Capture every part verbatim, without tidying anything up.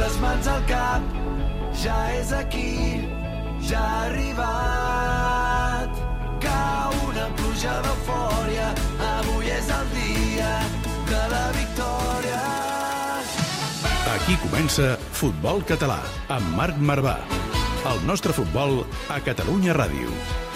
les mans al cap, ja és aquí, ja ha arribat. Cau una pluja d'eufòria, avui és el dia de la victòria. Aquí comença Futbol Català, amb Marc Marvà. El nostre futbol a Catalunya Ràdio.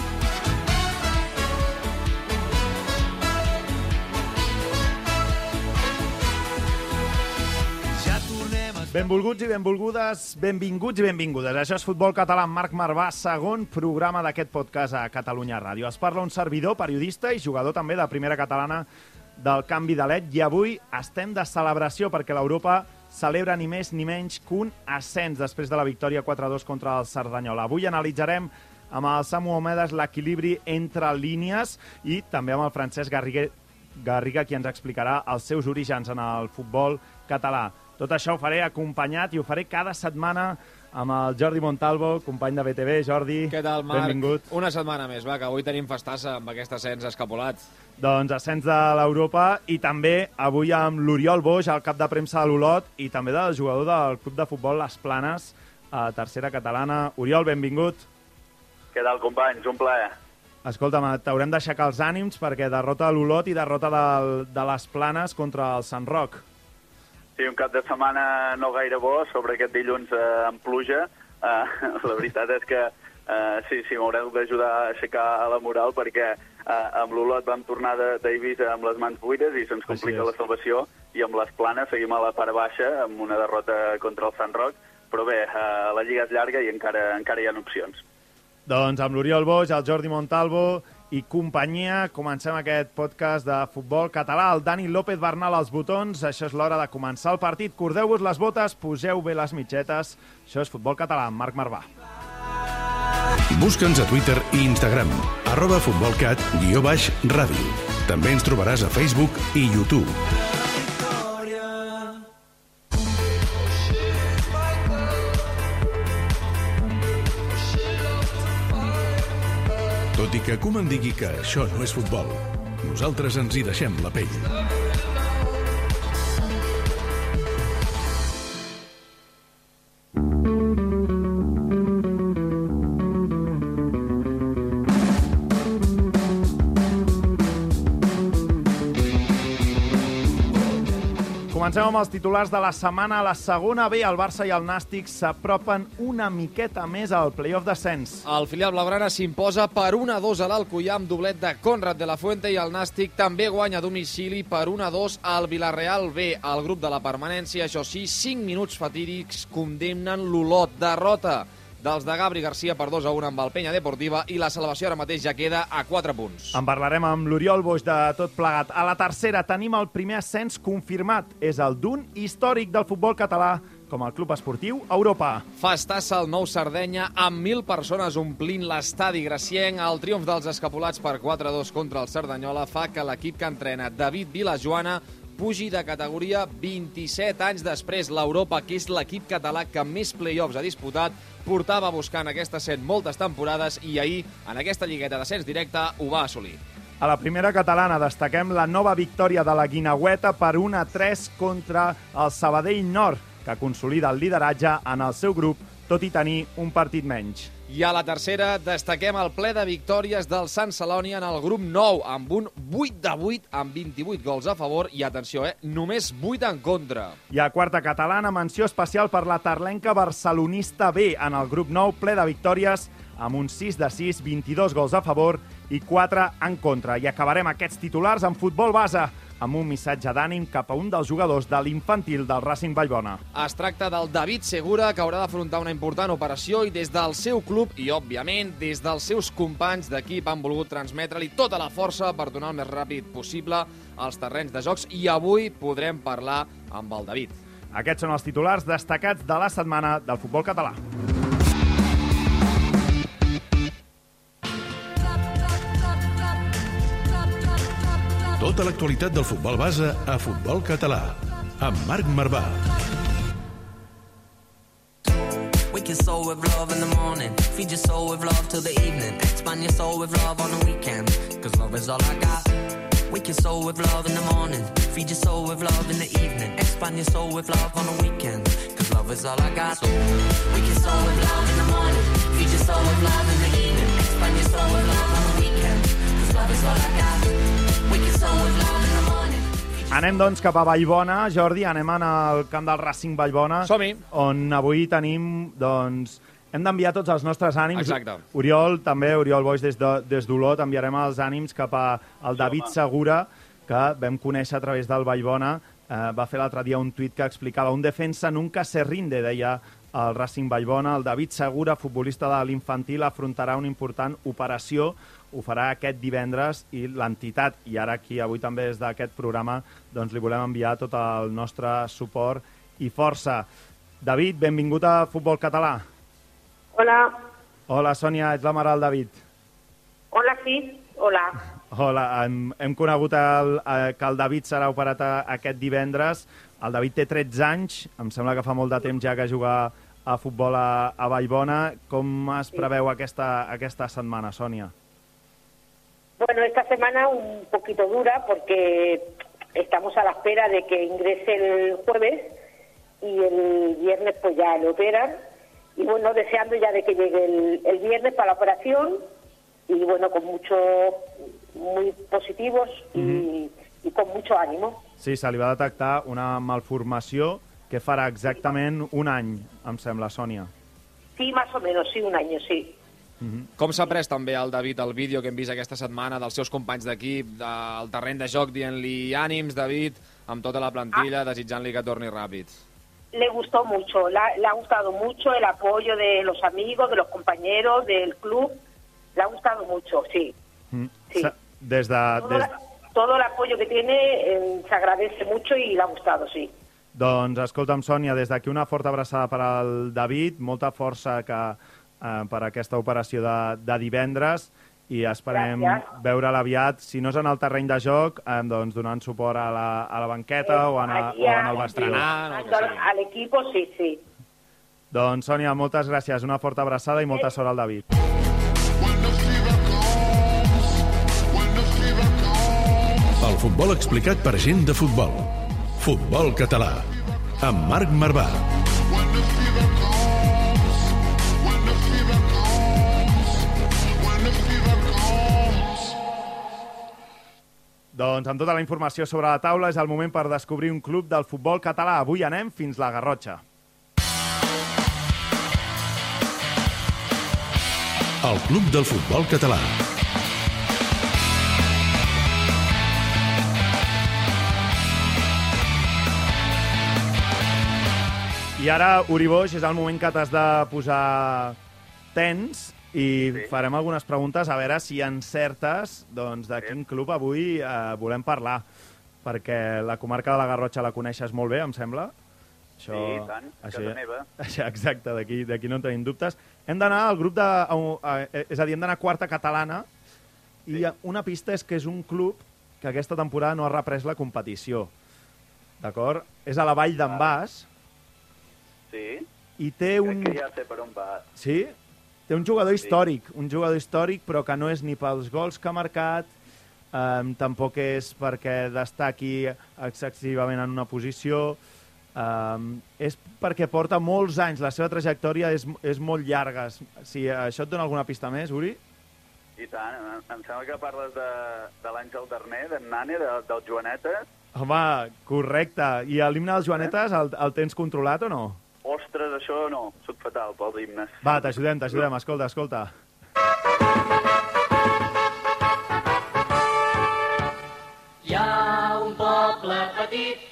Benvolguts i benvolgudes, benvinguts i benvingudes. Això és Futbol Català amb Marc Marvà, segon programa d'aquest podcast a Catalunya Ràdio. Es parla un servidor, periodista i jugador també de primera catalana del canvi de L E D. I avui estem de celebració perquè l'Europa celebra ni més ni menys que un ascens després de la victòria quatre a dos contra el Cerdanyola. Avui analitzarem amb el Samu Omedes l'equilibri entre línies i també amb el Francesc Garriga, Garriga qui ens explicarà els seus orígens en el futbol català. Tot això ho faré acompanyat i ho faré cada setmana amb el Jordi Montalvo, company de B T V. Jordi, què tal, Marc? Benvingut. Una setmana més, va, que avui tenim festassa amb aquest ascens escapolat. Doncs ascens de l'Europa i també avui amb l'Oriol Boix, el cap de premsa de l'Olot i també del jugador del club de futbol Les Planes, a tercera catalana. Oriol, benvingut. Què tal, companys? Un plaer. Escolta'm, t'haurem d'aixecar els ànims perquè derrota de l'Olot i derrota del, de Les Planes contra el Sant Roc. Sí, un cap de setmana no gaire bo, sobre aquest dilluns eh, amb pluja. Eh, la veritat és que eh, sí, sí, m'haureu d'ajudar a aixecar la moral perquè eh, amb l'Olot vam tornar d'Eivissa amb les mans buides i se'ns complica la salvació, i amb les Planes seguim a la part baixa amb una derrota contra el Sant Roc, però bé, eh, la lliga és llarga i encara, encara hi ha opcions. Doncs amb l'Oriol Boix, el Jordi Montalvo i companyia, comencem aquest podcast de futbol català. El Dani López Bernal als botons. Això és l'hora de començar el partit. Cordeu-vos les botes, poseu bé les mitgetes. Això és Futbol Català amb Marc Marvà. Busca'ns a Twitter i Instagram, arroba futbolcat guió baix ràdio. També ens trobaràs a Facebook i YouTube. Tot i que Koeman digui que això no és futbol, nosaltres ens hi deixem la pell. Comencem amb els titulars de la setmana. A la segona B, el Barça i el Nàstic s'apropen una miqueta més al play-off d'ascens. El filial blaugrana s'imposa per un a dos a l'Alcoià amb doblet de Conrad de la Fuente i el Nàstic també guanya a domicili per un a dos al Vilareal B. El grup de la permanència, això sí, cinc minuts fatídics condemnen l'Olot. Derrota dels de Gabri Garcia per dos a un amb el Penya Deportiva i la salvació ara mateix ja queda a quatre punts. En parlarem amb l'Oriol Boix de tot plegat. A la tercera tenim el primer ascens confirmat. És el d'un històric del futbol català com el Club Esportiu Europa. Festassa al Nou Sardenya amb mil persones omplint l'estadi gracienc. El triomf dels escapolats per quatre a dos contra el Cerdanyola fa que l'equip que entrena David Vilajoana pugi de categoria vint-i-set anys després. L'Europa, que és l'equip català que més play-offs ha disputat, portava buscant aquesta set moltes temporades i ahir, en aquesta lligueta d'ascens directe, ho va assolir. A la primera catalana destaquem la nova victòria de la Guineueta per un a tres contra el Sabadell Nord, que consolida el lideratge en el seu grup, tot i tenir un partit menys. I a la tercera destaquem el ple de victòries del Sant Celoni en el grup nou, amb un vuit de vuit amb vint-i-vuit gols a favor i, atenció, eh, només vuit en contra. I a quarta catalana, menció especial per la tarlenca barcelonista B en el grup nou, ple de victòries amb un sis de sis, vint-i-dos gols a favor i quatre en contra. I acabarem aquests titulars en futbol base, amb un missatge d'ànim cap a un dels jugadors de l'infantil del Racing Vallbona. Es tracta del David Segura, que haurà d'afrontar una important operació i des del seu club i, òbviament, des dels seus companys d'equip han volgut transmetre-li tota la força per donar el més ràpid possible als terrenys de jocs i avui podrem parlar amb el David. Aquests són els titulars destacats de la setmana del futbol català. Tota l'actualitat del futbol base a Futbol Català, amb Marc Marvà. Wake your soul with love in the morning. Feed your soul with love till the evening. Expand your soul with love on the weekend. Cause love is all I got. Wake your soul with love in the morning. Feed your soul with love in the evening. Expand your soul with love on the weekend. Cause cause love is all I got. So we can soar with love in the morning, feed your soul with love in the evening, expand your soul with love on the weekend, cause love is all I got. We can soar with love in the morning. Anem, doncs, cap a Vallbona. Jordi, anem al camp del Racing Vallbona. Som-hi. On avui tenim, doncs... Hem d'enviar tots els nostres ànims. Exacte. Oriol, també, Oriol Boix, des de, des d'Olot, enviarem els ànims cap al David Segura, que vam conèixer a través del Vallbona. Eh, va fer l'altre dia un tuit que explicava un defensa nunca se rinde, deia el Racing Vallbona. El David Segura, futbolista de l'infantil, afrontarà una important operació. Ho farà aquest divendres i l'entitat, i ara aquí, avui també des d'aquest programa, doncs li volem enviar tot el nostre suport i força. David, benvingut a Futbol Català. Hola. Hola, Sònia, ets la mare del David. Hola, sí. Hola. Hola, hem, hem conegut el, eh, que el David serà operat a, aquest divendres. El David té tretze anys, em sembla que fa molt de temps ja que juga a futbol a, a Vallbona. Com es preveu aquesta, aquesta setmana, Sònia? Bueno, esta semana un poquito dura porque estamos a la espera de que ingrese el jueves y el viernes pues ya lo operan. Y bueno, deseando ya de que llegue el, el viernes para la operación y bueno, con muchos, muy positivos y, mm-hmm. y con mucho ánimo. Sí, se li va detectar una malformació que farà exactament un any, em sembla, Sònia. Sí, más o menos, sí, un año, sí. Mm-hmm. Com s'ha pres també el David el vídeo que hem vist aquesta setmana dels seus companys d'equip, del terreny de joc, dient-li ànims, David, amb tota la plantilla, ah. desitjant-li que torni ràpid? Le gustó mucho, le ha, le ha gustado mucho el apoyo de los amigos, de los compañeros, del club. Le ha gustado mucho, sí. Mm. sí. Des de, todo, des... la, todo el apoyo que tiene eh, se agradece mucho y le ha gustado, sí. Doncs, escolta'm, Sònia, des d'aquí una forta abraçada per al David, molta força que, eh, per aquesta operació de, de divendres, i esperem Gràcies. veure'l aviat, si no és en el terreny de joc, eh, doncs donant suport a la, a la banqueta eh, o, en a, o en el vestrenant. Sí. A l'equip, sí, sí. Doncs, Sònia, moltes gràcies, una forta abraçada i molta sort al David. El futbol explicat per gent de futbol. Futbol Català, amb Marc Marvà. Doncs amb tota la informació sobre la taula és el moment per descobrir un club del futbol català. Avui anem fins la Garrotxa. El club del futbol català. I ara, Uri Boix, és el moment que t'has de posar tens i sí. farem algunes preguntes a veure si encertes doncs, de sí. quin club avui eh, volem parlar, perquè la comarca de la Garrotxa la coneixes molt bé, em sembla. Això, sí, tant, això, casa meva. Això, exacte, d'aquí no en tenim dubtes. Hem d'anar al grup de... Eh, és a dir, hem d'anar a quarta catalana i sí. una pista és que és un club que aquesta temporada no ha reprès la competició. D'acord? És a la Vall d'en Bas. Sí. I té un... Crec que ja sé per on va. Sí? Té un jugador històric, sí. un jugador històric, però que no és ni pels gols que ha marcat, eh, tampoc és perquè destaqui excessivament en una posició, eh, és perquè porta molts anys, la seva trajectòria és, és molt llarga. Si això et dona alguna pista més, Uri? I tant, em sembla que parles de, de l'Àngel Darner, d'en Nane, de, del Joanetes. Home, correcte. I l'himne dels Joanetes el, el tens controlat o no? Ostres, això no, soc fatal pels himnes. Va, t'ajudem, t'ajudem, escolta, escolta. Hi ha un poble petit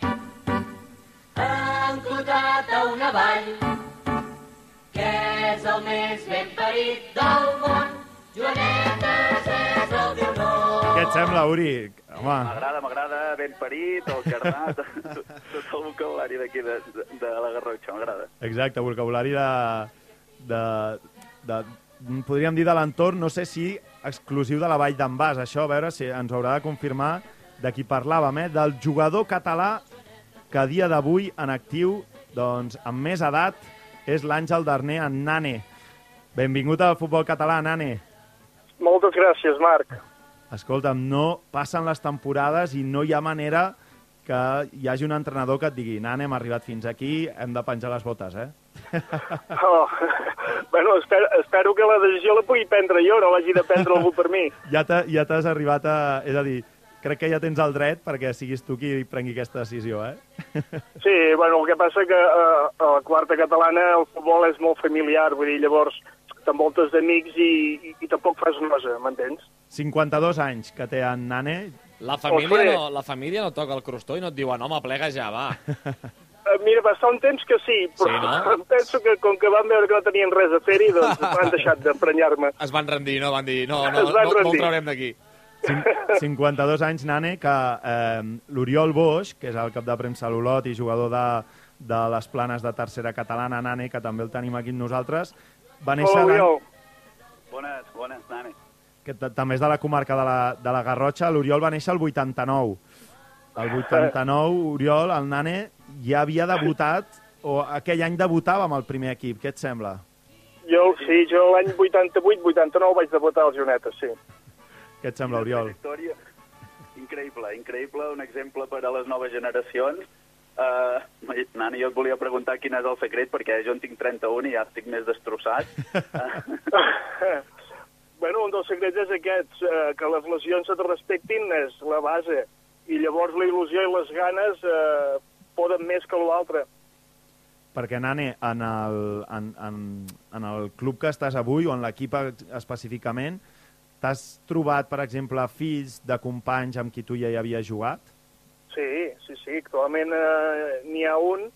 enclotat a una vall que és el més ben parit del món. Joanetes és el teu nom. Què et sembla, Uri? M'agrada, m'agrada, ben parit, el jardà, tot, tot el vocabulari d'aquí de, de, de la Garrotxa, m'agrada. Exacte, vocabulari de, de, de... podríem dir de l'entorn, no sé si exclusiu de la Vall d'en Bas, això, a veure si ens haurà de confirmar de qui parlàvem, eh? Del jugador català que a dia d'avui en actiu, doncs, amb més edat, és l'Àngel Darner, en Nane. Benvingut al futbol català, Nane. Moltes gràcies, Marc. Escolta'm, no passen les temporades i no hi ha manera que hi hagi un entrenador que et digui Nane, hem arribat fins aquí, hem de penjar les botes, eh? Oh, bueno, espero, espero que la decisió la pugui prendre jo, no l'hagi de prendre algú per mi. Ja t'has ja t'has arribat a... És a dir, crec que ja tens el dret perquè siguis tu qui prengui aquesta decisió, eh? Sí, bueno, el que passa que eh, a la quarta catalana el futbol és molt familiar, vull dir, llavors t'envoltes d'amics i, i, i tampoc fas nosa, m'entens? cinquanta-dos anys que té en Nane. La família, no, la família no toca el crostó i no et diuen, home, plega ja, va. Uh, mira, va estar un temps que sí, però sí, no? em penso que com que van veure que no tenien res a fer-hi, doncs han deixat d'emprenyar-me. Es van rendir, no? Van dir, no, no, Es van no, no rendir. el traurem d'aquí. cinquanta-dos anys, Nane, que eh, l'Oriol Boix, que és el cap de premsa a l'Olot i jugador de, de les planes de tercera catalana, Nane, que també el tenim aquí amb nosaltres, va néixer... Hola, Oriol. Bones, bones, Nane. Que també és de la comarca de la, de la Garrotxa. L'Oriol va néixer el vuitanta-nou. El vuitanta-nou, Oriol, el Nane, ja havia debutat, o aquell any debutava amb el primer equip. Què et sembla? Jo, sí, jo l'any vuitanta-vuit vuitanta-nou vaig debutar als Jonetes, sí. Què et sembla, Oriol? Trajectòria increïble, increïble, un exemple per a les noves generacions. Uh, Nani, jo et volia preguntar quin és el secret, perquè jo en tinc trenta-un i ja estic més destrossat. Bueno, un dels secrets és aquest, eh, que les lesions et respectin és la base, i llavors la il·lusió i les ganes eh, poden més que l'altre. Perquè, Nane, en el, en, en, en el club que estàs avui, o en l'equip específicament, t'has trobat, per exemple, fills de companys amb qui tu ja hi havies jugat? Sí, sí, sí, actualment eh, n'hi ha un,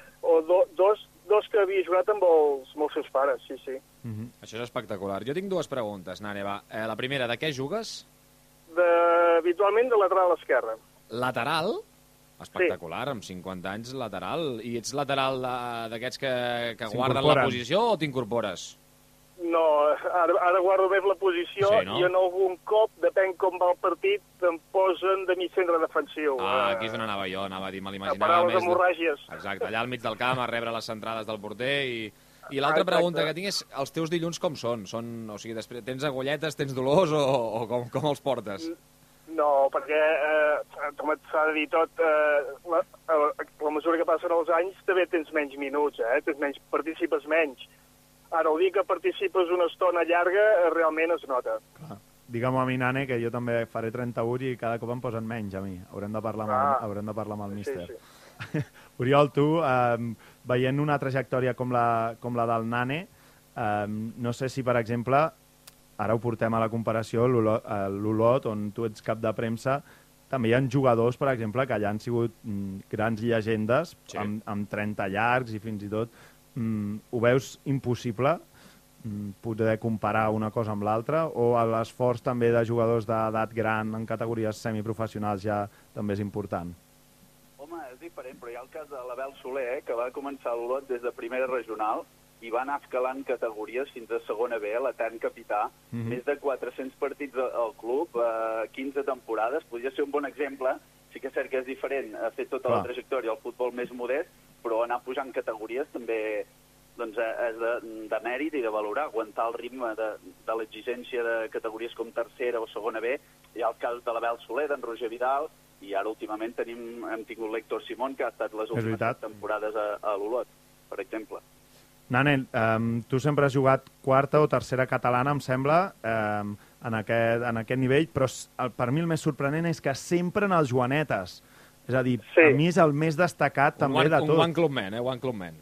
o do, dos, dos que havia jugat amb els, amb els seus pares, sí, sí. Mm-hmm. Això és espectacular. Jo tinc dues preguntes, Nane, va. Eh, la primera, de què jugues? De, habitualment de lateral esquerra. Lateral? Espectacular, sí. Amb cinquanta anys lateral. I ets lateral d'aquests que, que guarden la posició o t'incorpores? No, ara, ara guardo més la posició, sí, no? I en algun cop, depèn com va el partit, em posen de mig centre defensiu. Ah, aquí és on anava jo, anava a dir, me l'imaginava. A parar les hemorràgies. De... Exacte, allà al mig del camp, a rebre les centrades del porter i... I l'altra pregunta que tinc és, els teus dilluns com són? són o sigui, després, tens agulletes, tens dolors o, o com, com els portes? No, perquè, eh, com et s'ha de dir tot, eh, la, a la mesura que passen els anys també tens menys minuts, eh? Tens menys, participes menys. Ara, el dia que participes una estona llarga, eh, realment es nota. Clar. Digue'm a mi, Nane, que jo també faré trenta-u i cada cop em posen menys a mi. Haurem de parlar, ah. amb, el, haurem de parlar amb el míster. Sí, sí. Oriol, tu, eh, veient una trajectòria com la, com la del Nane, eh, no sé si, per exemple, ara ho portem a la comparació, l'Olot, on tu ets cap de premsa, també hi ha jugadors, per exemple, que ja han sigut mm, grans llegendes, sí. amb, amb trenta llargs i fins i tot. Mm, ho veus impossible mm, poder comparar una cosa amb l'altra, o l'esforç també de jugadors d'edat gran en categories semiprofessionals ja també és important? Home, és diferent, però hi ha el cas de l'Abel Soler, eh, que va començar l'Olot des de primera regional i va anar escalant categories fins a segona B, l'etern capità, mm-hmm. més de quatre-cents partits al club, eh, quinze temporades, podria ser un bon exemple. Sí que és cert que és diferent, ha fet tota Clar. la trajectòria al futbol més modest, però anar pujant categories també doncs, és de, de mèrit i de valorar, aguantar el ritme de, de l'exigència de categories com tercera o segona B. Hi ha el cas de l'Abel Soler, d'en Roger Vidal, i ara últimament tenim, hem tingut l'Héctor Simón, que ha estat les últimes temporades a, a l'Olot, per exemple. Nane, um, tu sempre has jugat quarta o tercera catalana, em sembla, um, en, aquest, en aquest nivell, però el, per mi el més sorprenent és que sempre en els Joanetes. És a dir, sí. a mi és el més destacat un també one, de tot. Un one club man, eh? One club man.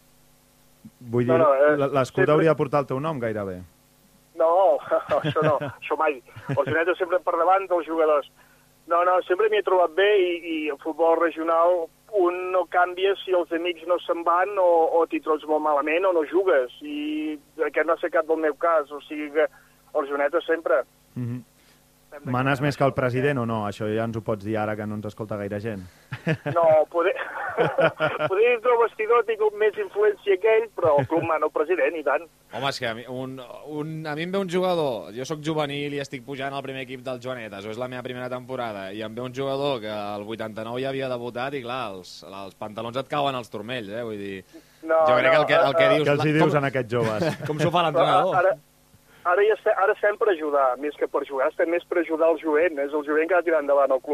Vull dir, no, no, eh, l'escut sempre... hauria de portar el teu nom gairebé. No, això no, això mai. Els Joanetes sempre per davant dels jugadors. No, no, sempre m'hi he trobat bé i, i el futbol regional un no canvia si els amics no se'n van o, o t'hi trobes molt malament o no jugues. I aquest no ha estat cap del meu cas, o sigui que els Joanetes sempre. Mm-hmm. Manes més que el president o no? Això ja ens ho pots dir ara que no ens escolta gaire gent. No, poder, poder dir que el vestidor ha tingut més influència que ell, però el club mana el president, i tant. Home, és que a mi, un, un, a mi em ve un jugador, jo sóc juvenil i estic pujant al primer equip del Joanetes, o és la meva primera temporada, i em ve un jugador que el vuitanta-nou ja havia debutat i, clar, els, els pantalons et cauen als turmells, eh? Vull dir, no, jo crec no, que el que, el que uh, dius... Què els hi dius com, en aquests joves? Com s'ho fa l'entrenador? Ara, ara, ja estem, ara estem per ajudar, més que per jugar, estem més per ajudar el jovent, és el jovent que ha de tirar endavant el club.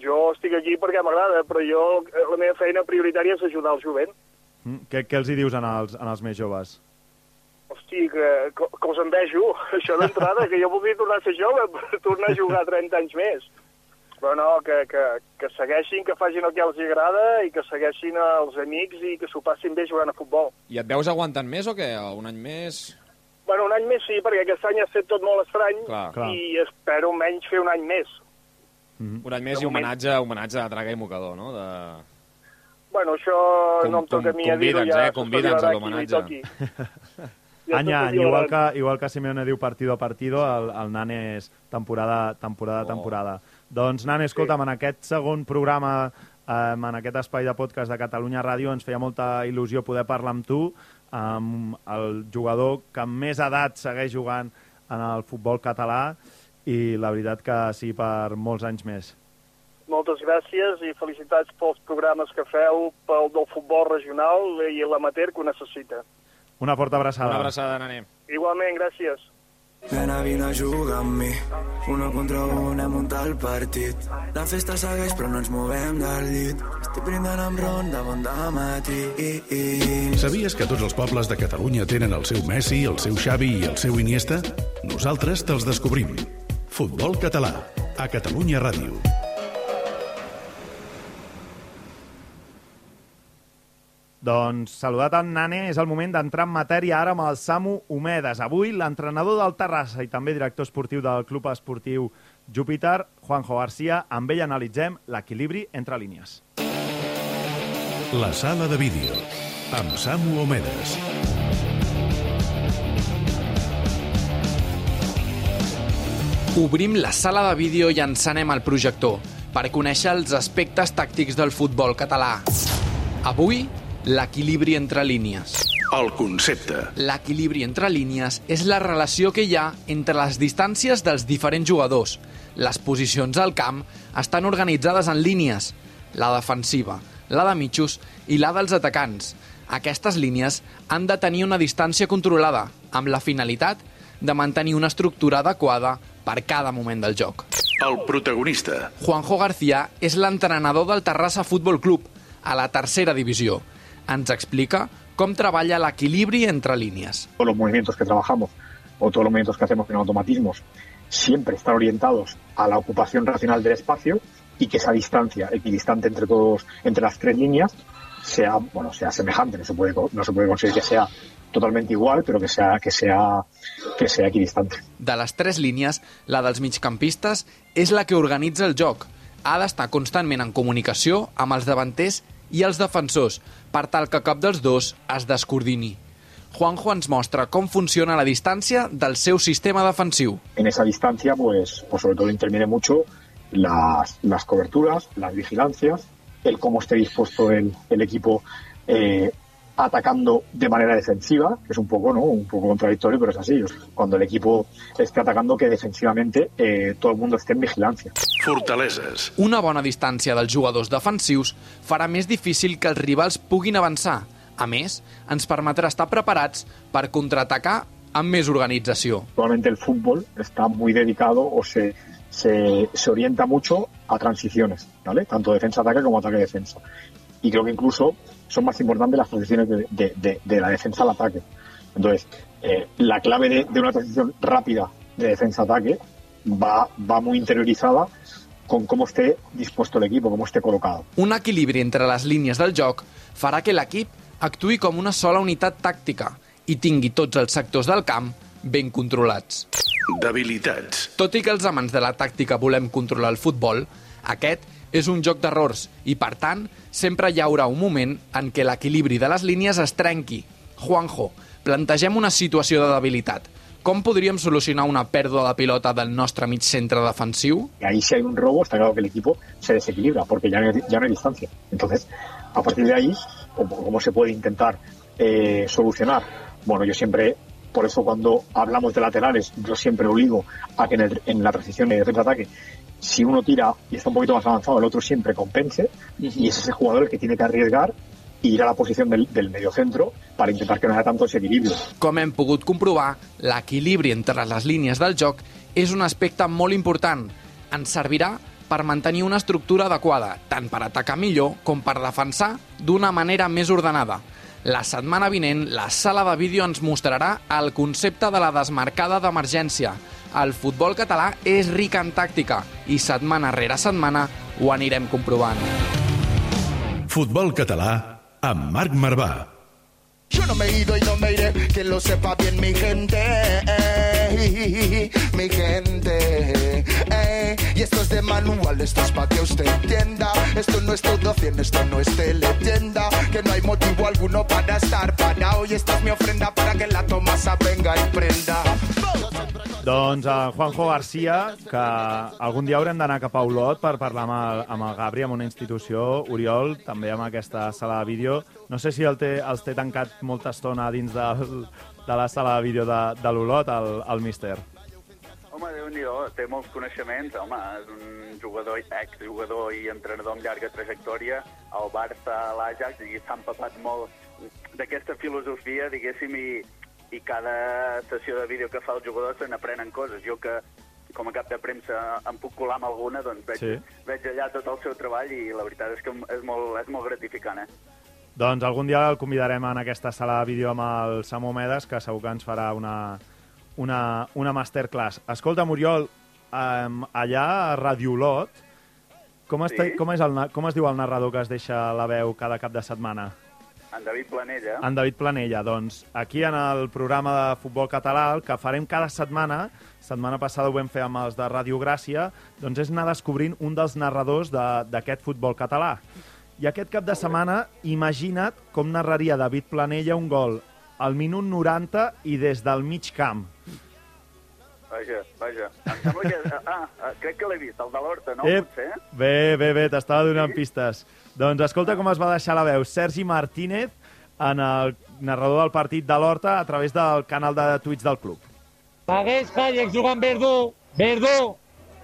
Jo estic aquí perquè m'agrada, però jo, la meva feina prioritària és ajudar el jovent. Mm, què, què els hi dius en els, en els més joves? Hosti, que, que, que els envejo, això d'entrada, que jo voldria tornar a ser jove, per tornar a jugar trenta anys més. Però no, que, que, que segueixin, que facin el que els agrada i que segueixin els amics i que s'ho passin bé jugant a futbol. I et veus aguantant més o què? Un any més? Bueno, un any més sí, perquè aquest any ha estat tot molt estrany Clar. i espero menys fer un any més. Mm-hmm. Un any més i homenatge, homenatge a Traga i Mocador, no? De... Bueno, això Com- no em toca a mi a dir-ho, convida'ns, ja eh? Convida'ns a s'especularà l'homenatge. qui li toqui. Ja Any a any, s'especularà. igual que, igual que Simeone diu partido a partido, el, el Nane és temporada, temporada, Oh. temporada. Doncs, Nane, escolta'm, en aquest segon programa, eh, en aquest espai de podcast de Catalunya Ràdio, ens feia molta il·lusió poder parlar amb tu, amb el jugador que amb més edat segueix jugant en el futbol català, i la veritat que sí per molts anys més. Moltes gràcies i felicitats pels programes que feu, pel del futbol regional i l'amateur que ho necessita. Una forta abraçada. Una abraçada, Nane. Igualment, gràcies. Nena, vine a jugar amb mi. Uno contra un hem muntat el partit. La festa segueix però no ens movem del llit. Estic brindant amb ron de bon dematí. Sabies que tots els pobles de Catalunya tenen el seu Messi, el seu Xavi i el seu Iniesta? Nosaltres te'ls descobrim. Futbol català, a Catalunya Ràdio. Doncs, saludat en Nane, és el moment d'entrar en matèria ara amb el Samu Omedes. Avui, l'entrenador del Terrassa i també director esportiu del Club Esportiu Júpiter, Juanjo García, amb ell analitzem l'equilibri entre línies. La sala de vídeo, amb Samu Omedes. Obrim la sala de vídeo i encenem el projector per conèixer els aspectes tàctics del futbol català. Avui, l'equilibri entre línies. El concepte. L'equilibri entre línies és la relació que hi ha entre les distàncies dels diferents jugadors. Les posicions al camp estan organitzades en línies, la defensiva, la de mitjos i la dels atacants. Aquestes línies han de tenir una distància controlada, amb la finalitat de mantenir una estructura adequada per cada moment del joc. El protagonista. Juanjo García és l'entrenador del Terrassa Futbol Club, a la tercera divisió. Ens explica com treballa l'equilibri entre línies. Todos los movimientos que trabajamos o todos los movimientos que hacemos en automatismos siempre están orientados a la ocupación racional del espacio y que esa distancia equidistante entre todos, entre las tres líneas sea, bueno, sea semejante. No se puede, no se puede conseguir que sea totalmente igual, pero que sea, que sea, que sea equidistante. De les tres línies, la dels migcampistes és la que organitza el joc. Ha d'estar constantment en comunicació amb els davanters i els defensors, per tal que cap dels dos es descoordini. Juanjo ens mostra com funciona la distància del seu sistema defensiu. En esa distancia, pues, pues sobre todo interviene mucho las, las coberturas, las vigilancias, el cómo esté dispuesto el, el equipo eh, atacando de manera defensiva, que es un poco, ¿no? un poco contradictorio, pero es así. Cuando el equipo esté atacando, que defensivamente eh, todo el mundo esté en vigilancia. Fortaleses. Una bona distància dels jugadors defensius farà més difícil que els rivals puguin avançar. A més, ens permetrà estar preparats per contraatacar amb més organització. Actualmente el fútbol está muy dedicado o se, se, se orienta mucho a transiciones, ¿vale? Tanto defensa-ataque como ataque-defensa. Y creo que incluso son más importantes las transiciones de, de, de, de la defensa al ataque. Entonces, eh, la clave de, de una transición rápida de defensa-ataque va, va muy interiorizada con cómo esté dispuesto el equipo, cómo esté colocado. Un equilibri entre les línies del joc farà que l'equip actuï com una sola unitat tàctica i tingui tots els sectors del camp ben controlats. Debilitats. Tot i que els amants de la tàctica volem controlar el futbol, aquest és un joc d'errors i, per tant, sempre hi haurà un moment en què l'equilibri de les línies es trenqui. Juanjo, plantegem una situació de debilitat. Com podríem solucionar una pèrdua de pilota del nostre mig centre defensiu? Y ahí si hay un robo, está claro que el equipo se desequilibra, porque ya no hay, ya no hay distancia. Entonces, a partir de ahí, ¿cómo, cómo se puede intentar eh, solucionar? Bueno, yo siempre, por eso cuando hablamos de laterales, yo siempre obligo a que en, el, en la transición de defensa-ataque, si uno tira y está un poquito más avanzado, el otro siempre compense, y es ese jugador el que tiene que arriesgar i ir a la posició del, del mediocentro per intentar que no hi hagi tant desequilibri. Com hem pogut comprovar, l'equilibri entre les línies del joc és un aspecte molt important. Ens servirà per mantenir una estructura adequada, tant per atacar millor com per defensar d'una manera més ordenada. La setmana vinent, la sala de vídeo ens mostrarà el concepte de la desmarcada d'emergència. El futbol català és ric en tàctica i setmana rere setmana ho anirem comprovant. Futbol català amb Marc Marvà. Yo no me he ido y no me iré, que lo sepa bien mi gente, eh, mi gente, eh, y esto es de manual, esto es para que usted entienda, esto no es todo cien, esto no es teletienda, que no hay motivo alguno para estar parado, y esta es mi ofrenda para que la Tomasa venga y prenda. Doncs a Juanjo García, que algun dia haurem d'anar cap a Olot per parlar amb el, amb el Gabri, amb una institució, Oriol, també amb aquesta sala de vídeo. No sé si el té, els té tancat molta estona dins del, de la sala de vídeo de, de l'Olot, el, el míster. Home, Déu-n'hi-do, té molts coneixements. Home, és un jugador, exjugador i entrenador amb llarga trajectòria al Barça, a l'Ajax, i s'ha empapat molt d'aquesta filosofia, diguéssim, i i cada sessió de vídeo que fa el jugador se n'aprenen coses. Jo que, com a cap de premsa, em puc colar amb alguna, doncs veig, sí. veig allà tot el seu treball i la veritat és que és molt, és molt gratificant, eh? Doncs algun dia el convidarem en aquesta sala de vídeo amb el Samu Medes, que segur que ens farà una, una, una masterclass. Escolta, Oriol, um, allà a Radio Olot, com, sí? com, és el, com es diu el narrador que es deixa la veu cada cap de setmana? En David Planella. En David Planella. Doncs aquí en el programa de futbol català, el que farem cada setmana, setmana passada ho vam fer amb els de Ràdio Gràcia, doncs és anar descobrint un dels narradors d'aquest de, futbol català. I aquest cap de setmana, imagina't com narraria David Planella un gol al minut noranta i des del mig camp. Vaja, vaja. Em sembla que... Ah, crec que l'he vist, el de l'Horta, no? Eh, Potser? Bé, bé, bé, t'estava donant sí? pistes. Doncs escolta com es va deixar la veu Sergi Martínez en el narrador del partit de l'Horta a través del canal de Twitch del club. Pagués, Hayek, jugant Verdú, Verdú.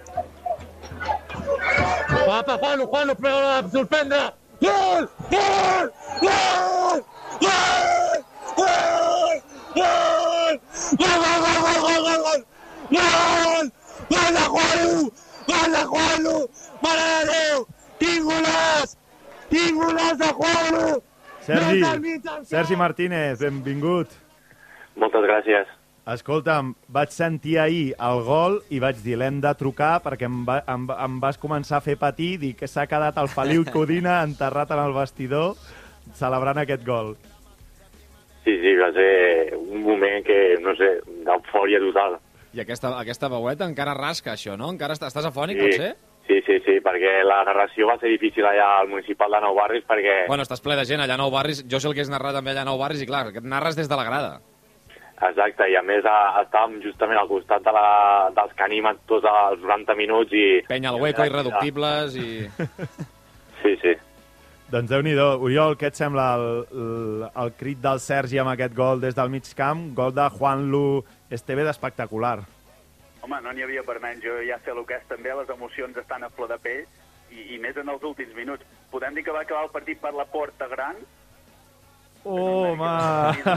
Va pa Juanlo, Juanlo, però a sorprendre. Gol! Gol! Gol! Gol! Gol! Gol! Gol, gol, gol, gol, gol, gol, gol! Gol! Gol de Juanlo! Gol de Juanlo! Mare de Déu! Quin golaç! Quin golaç de Juanlo! Sergi, Sergi Martínez, benvingut. Moltes gràcies. Escolta'm, vaig sentir ahir el gol i vaig dir, l'hem de trucar perquè em, va, em, em vas començar a fer patir, dir que s'ha quedat el Feliu Codina enterrat en el vestidor celebrant aquest gol. Sí, sí, va ser un moment que, no sé, d'eufòria total. I aquesta, aquesta veueta encara rasca, això, no? Encara estàs, estàs afònic, sí. pot ser? Sí, sí, sí, perquè la narració va ser difícil allà al municipal de Nou Barris perquè... Bueno, estàs ple de gent allà a Nou Barris, jo sé el que és narrar també allà a Nou Barris i clar, que narres des de la grada. Exacte, i a més a, estàvem justament al costat de la, dels que animen tots els noranta minuts i... Penya al hueco, irreductibles i... Sí, sí. Doncs Déu-n'hi-do. Oriol, què et sembla el, el, el crit del Sergi amb aquest gol des del mig camp? Gol de Juanlu Estevez espectacular. Home, no n'hi havia per menys. Jo ja sé el que és també, les emocions estan a flor de pell i, i més en els últims minuts. Podem dir que va acabar el partit per la porta gran? Oh, home!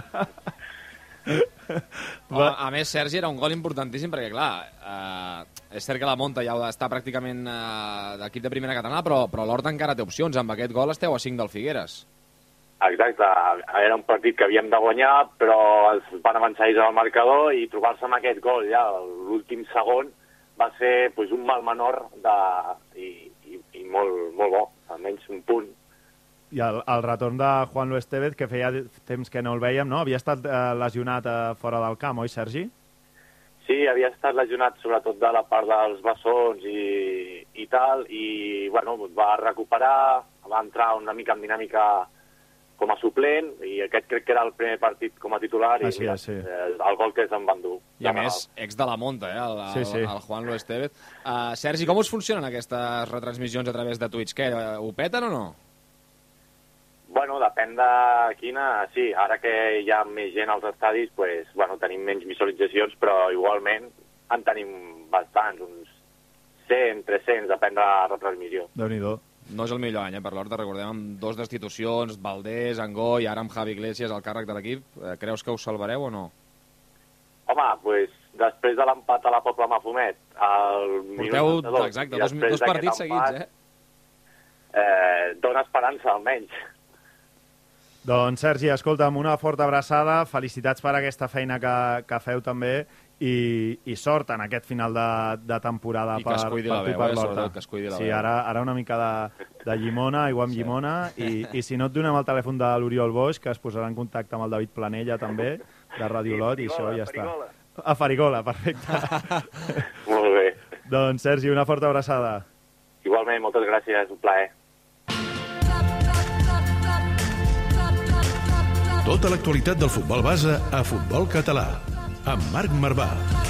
Va. A més, Sergi, era un gol importantíssim perquè, clar, eh, és cert que la Monta ja està pràcticament eh, d'equip de primera catalana, però, però l'Horta encara té opcions. Amb aquest gol esteu a cinc del Figueres. Exacte, era un partit que havíem de guanyar, però es van avançar ells al marcador i trobar-se amb aquest gol ja l'últim segon va ser pues, un mal menor de... I, i, i molt, molt bo, almenys un punt. I el, el retorn de Juanlu Estevez, que feia temps que no el veiem, no? Havia estat eh, lesionat eh, fora del camp, oi, Sergi? Sí, havia estat lesionat sobretot de la part dels bessons i, i tal, i bueno, va recuperar, va entrar una mica en dinàmica com a suplent, i aquest crec que era el primer partit com a titular, i sí, sí. el, el gol que se'n van dur. I a més, ex de la Monta, eh, el, sí, sí. el, el Juanlu Estevez. Uh, Sergi, com us funcionen aquestes retransmissions a través de Twitch? Què, ho peten o no? Bueno, depèn de quina, sí. Ara que hi ha més gent als estadis, pues, bueno, tenim menys visualitzacions, però igualment en tenim bastants, uns cent, tres-cents, depèn de la retransmissió. Déu-n'hi-do. No és el millor any, eh, per l'Horta, recordem, amb dos destitucions, Valdés, Angó i ara amb Javi Iglesias al càrrec de l'equip. Eh, creus que us salvareu o no? Home, pues, després de l'empat a la Pobla Mafumet, al Porteu, minut setanta-dos, exacte, i dos, després dos partits d'aquest empat, seguits, eh? Eh, dona esperança, almenys. Doncs, Sergi, escolta'm, una forta abraçada, felicitats per aquesta feina que, que feu també i, i sort en aquest final de, de temporada I que per, es cuidi per la tu i veu, per eh, l'Horta. sobretot, que es cuidi la sí, veu. ara, ara una mica de, de llimona, aigua amb sí. llimona, i, i si no et donem el telèfon de l'Oriol Boix, que es posarà en contacte amb el David Planella també, de Radio Lot, i això ja està. A Farigola, perfecte. Molt bé. Doncs, Sergi, una forta abraçada. Igualment, moltes gràcies, un plaer. Tota l'actualitat del futbol base a Futbol Català, amb Marc Marvà.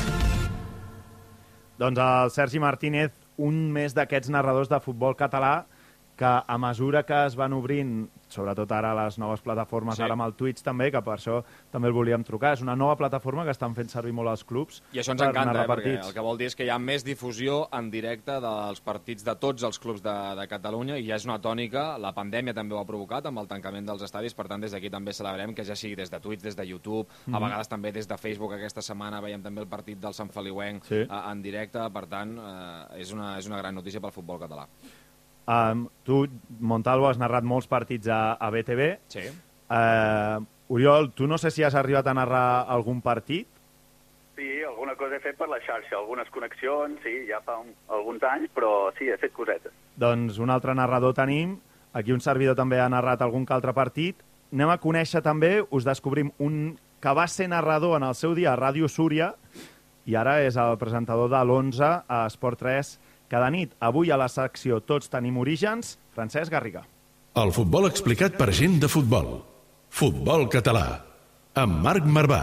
Doncs el Sergi Martínez, un més d'aquests narradors de futbol català que a mesura que es van obrint, sobretot ara les noves plataformes, sí. ara amb el Twitch també, que per això també el volíem trucar, és una nova plataforma que estan fent servir molt els clubs. I això ens encanta, eh, perquè el que vol dir és que hi ha més difusió en directe dels partits de tots els clubs de, de Catalunya, i ja és una tònica, la pandèmia també ho ha provocat amb el tancament dels estadis, per tant des d'aquí també celebrem que ja sigui des de Twitch, des de YouTube, mm-hmm. a vegades també des de Facebook. Aquesta setmana veiem també el partit del Sant Feliuenc sí. en directe, per tant eh, és, una, és una gran notícia pel futbol català. Um, tu, Montalvo, has narrat molts partits a, a B T V. Sí. Uh, Oriol, tu no sé si has arribat a narrar algun partit? Sí, alguna cosa he fet per la xarxa, algunes connexions, sí, ja fa un, alguns anys, però sí, he fet cosetes. Doncs un altre narrador tenim, aquí un servidor també ha narrat algun que altre partit. Anem a conèixer també, us descobrim un que va ser narrador en el seu dia a Ràdio Súria i ara és el presentador de l'onze a Esport tres cada nit. Avui a la secció Tots tenim orígens, Francesc Garriga. El futbol explicat per gent de futbol. Futbol català, amb Marc Marvà.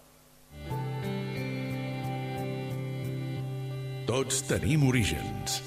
Tots tenim orígens.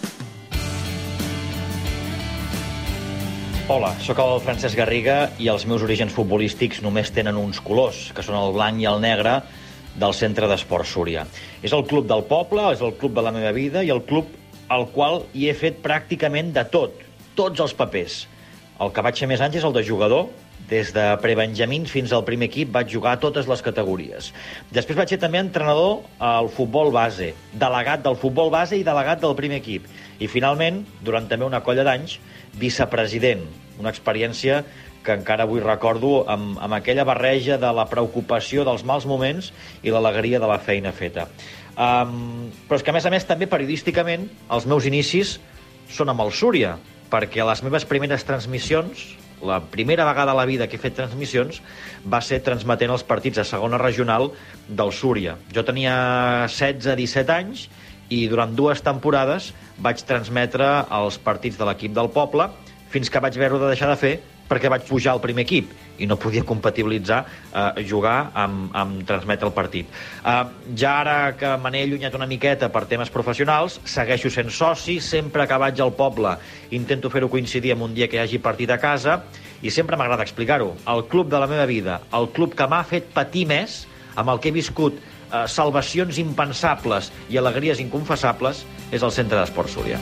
Hola, sóc el Francesc Garriga i els meus orígens futbolístics només tenen uns colors, que són el blanc i el negre, del Centre d'Esport Súria. És el club del poble, és el club de la meva vida i el club al qual hi he fet pràcticament de tot, tots els papers. El que vaig fer més anys és el de jugador. Des de prebenjamins fins al primer equip vaig jugar a totes les categories. Després vaig ser també entrenador al futbol base, delegat del futbol base i delegat del primer equip. I finalment, durant també una colla d'anys, vicepresident, una experiència que encara avui recordo amb, amb aquella barreja de la preocupació dels mals moments i l'alegria de la feina feta. Um, però és que, a més a més, també periodísticament, els meus inicis són amb el Súria, perquè les meves primeres transmissions, la primera vegada a la vida que he fet transmissions, va ser transmetent els partits a segona regional del Súria. Jo tenia setze disset anys i durant dues temporades vaig transmetre els partits de l'equip del poble fins que vaig veure de deixar de fer perquè vaig pujar al primer equip i no podia compatibilitzar eh, jugar amb, amb transmetre el partit. Eh, ja ara que me n'he allunyat una miqueta per temes professionals, segueixo sent soci, sempre que vaig al poble intento fer-ho coincidir amb un dia que hi hagi partit a casa i sempre m'agrada explicar-ho. El club de la meva vida, el club que m'ha fet patir més, amb el que he viscut eh, salvacions impensables i alegries inconfessables, és el Centre d'Esport Súria.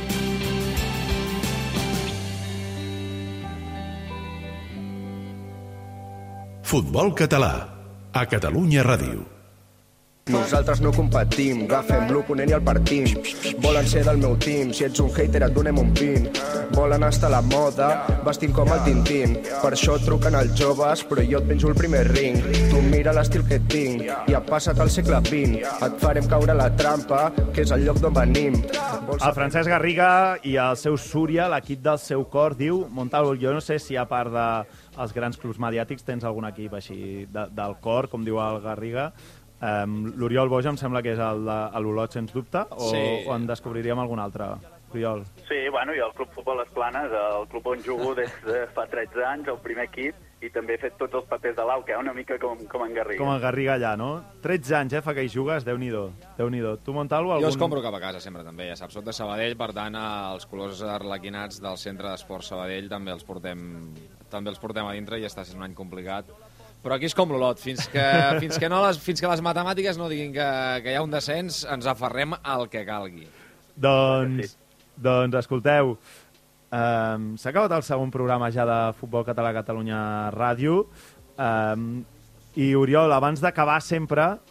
Futbol català, a Catalunya Ràdio. Nosaltres no competim, agafem l'oponent i el partim. Volen ser del meu team, si ets un hater et donem un pin. Volen estar a la moda, vestint com el Tintín. Per això truquen els joves, però jo et penjo el primer ring. Tu mira l'estil que tinc, i ha passat al segle vint. Et farem caure la trampa, que és el lloc d'on venim. El Francesc Garriga i el seu Súria, l'equip del seu cor, diu Montalvo, jo no sé si a part de els grans clubs mediàtics tens algun equip així de, del cor, com diu el Garriga. Um, L'Oriol Boix em sembla que és el de l'Olot, sens dubte, o, sí. o en descobriríem algun altre? Oriol. Sí, bueno, i el Club Futbol Les Planes, el club on jugo des de fa tretze anys, el primer equip, i també he fet tots els papers de l'Au, que una mica com, com en Garriga. Com en Garriga allà, no? tretze anys, eh, fa que hi jugues, Déu-n'hi-do. Déu-n'hi-do. Tu, Montalvo, algun... Jo es compro cap a casa sempre, també, ja saps, sóc de Sabadell, per tant, els colors arlequinats del Centre d'Esport Sabadell també els portem, també els portem a dintre i està sent un any complicat. Però aquí és com l'Olot, fins que, fins que, no les, fins que les matemàtiques no diguin que, que hi ha un descens, ens aferrem al que calgui. Doncs, doncs escolteu, um, s'ha acabat el segon programa ja de Futbol Català a Catalunya Ràdio, um, i Oriol, abans d'acabar sempre,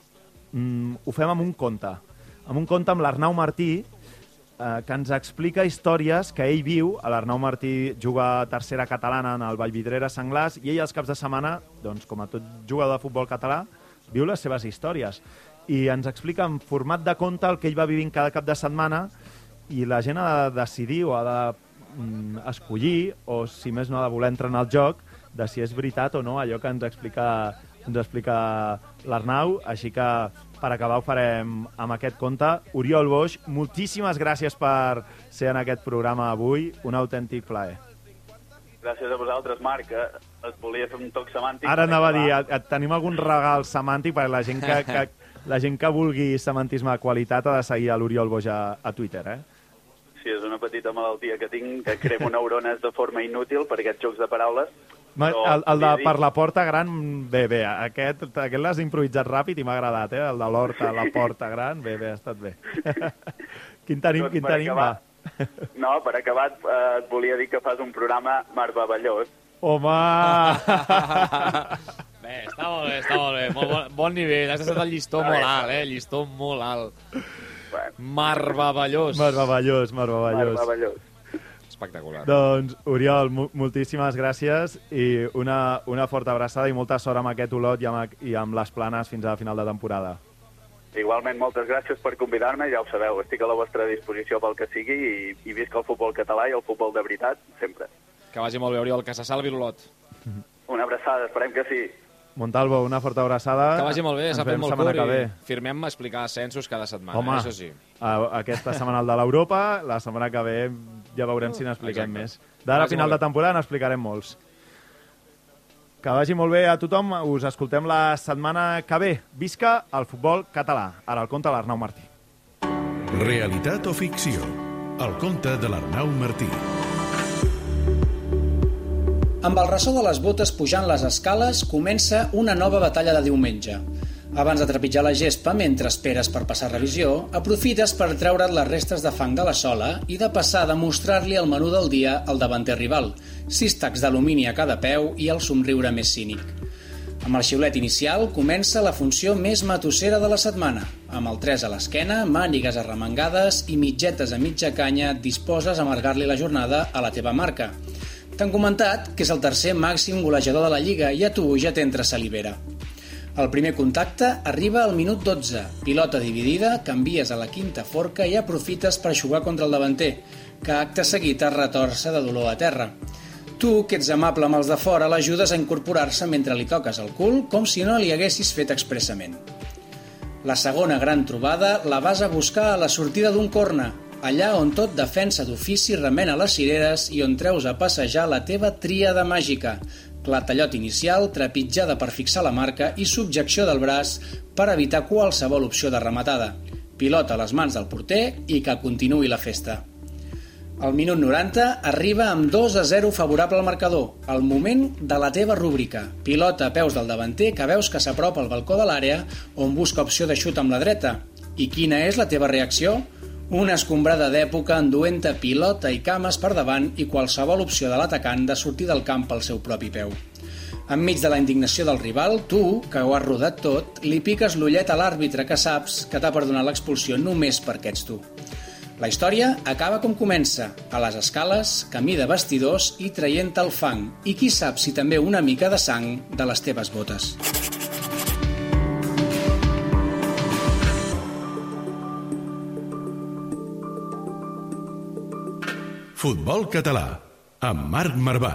mm, ho fem amb un conte. Amb un conte amb l'Arnau Martí, eh, que ens explica històries que ell viu. L'Arnau Martí juga a tercera catalana en el Vallvidrera Senglars i ell els caps de setmana, doncs, com a tot jugador de futbol català, viu les seves històries. I ens explica en format de conte el que ell va vivint cada cap de setmana i la gent ha de decidir o ha de mm, escollir, o si més no ha de voler entrar en el joc, de si és veritat o no allò que ens explica, ens explica l'Arnau. Així que, per acabar, ho farem amb aquest conte. Oriol Boix, moltíssimes gràcies per ser en aquest programa avui. Un autèntic plaer. Gràcies a vosaltres, Marc. Et volia fer un toc semàntic. Ara anava a dir, et, tenim algun regal semàntic perquè la gent que, que, la gent que vulgui semantisme de qualitat ha de seguir a l'Oriol Boix a, a Twitter, eh? Sí, és una petita malaltia que tinc, que cremo neurones de forma inútil per aquests jocs de paraules. Però, el, el de per la porta gran, bé, bé, aquest, aquest l'has improvisat ràpid i m'ha agradat, eh? El de l'horta, la porta gran, bé, bé, ha estat bé. Quin tenim, quin tenim, va? No, per acabar, eh, et volia dir que fas un programa meravellós. Home! Bé, està molt bé, està molt bé. Molt bon, bon nivell, has estat el llistó molt alt, eh? Llistó molt alt. Meravellós. Meravellós, meravellós. Meravellós. Espectacular. Doncs, Oriol, moltíssimes gràcies i una, una forta abraçada i molta sort amb aquest Olot i amb, i amb les planes fins a la final de temporada. Igualment, moltes gràcies per convidar-me, ja ho sabeu, estic a la vostra disposició pel que sigui i, i visc el futbol català i el futbol de veritat, sempre. Que vagi molt bé, Oriol, que se salvi l'Olot. Una abraçada, esperem que sí. Montalvo, una forta abraçada. Que vagi molt bé, s'ha fet molt curt i firmem explicar ascensos cada setmana. Home, això sí. Aquesta setmana el de l'Europa, la setmana que ve ja veurem si n'expliquem més. D'ara a final de temporada n'explicarem molts. Que vagi molt bé a tothom, us escoltem la setmana que ve. Visca el futbol català. Ara el conte de l'Arnau Martí. Realitat o ficció? El conte de l'Arnau Martí. Amb el ressò de les botes pujant les escales comença una nova batalla de diumenge. Abans de trepitjar la gespa mentre esperes per passar revisió, aprofites per treure't les restes de fang de la sola i de passar a demostrar-li el menú del dia al davanter rival, sis tacs d'alumini a cada peu i el somriure més cínic. Amb el xiulet inicial comença la funció més matossera de la setmana. Amb el tres a l'esquena, mànigues arremangades i mitgetes a mitja canya et disposes a amargar-li la jornada a la teva marca. T'han comentat que és el tercer màxim golejador de la Lliga i a tu ja t'entra salivera. El primer contacte arriba al minut dotze. Pilota dividida, canvies a la quinta forca i aprofites per jugar contra el davanter, que acte seguit es retorça de dolor a terra. Tu, que ets amable amb els de fora, l'ajudes a incorporar-se mentre li toques el cul com si no li haguessis fet expressament. La segona gran trobada la vas a buscar a la sortida d'un corna, allà on tot defensa d'ofici remena les cireres i on treus a passejar la teva tríada màgica, clatellot inicial, trepitjada per fixar la marca i subjecció del braç per evitar qualsevol opció de rematada. Pilota a les mans del porter i que continuï la festa. Al minut noranta arriba amb dos a zero favorable al marcador, el moment de la teva rúbrica. Pilota a peus del davanter que veus que s'apropa al balcó de l'àrea on busca opció de xut amb la dreta. I quina és la teva reacció? Una escombrada d'època enduent-te pilota i cames per davant i qualsevol opció de l'atacant de sortir del camp pel seu propi peu. Enmig de la indignació del rival, tu, que ho has rodat tot, li piques l'ullet a l'àrbitre que saps que t'ha perdonat l'expulsió només perquè ets tu. La història acaba com comença, a les escales, camí de vestidors i traient el fang, i qui sap si també una mica de sang de les teves botes. Futbol català, amb Marc Marvà.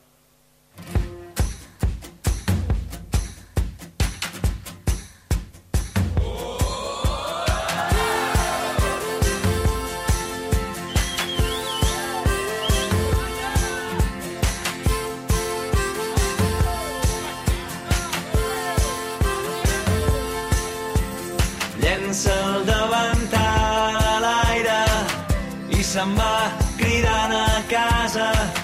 Llença el davantal a l'aire i se'n va cridant a casa.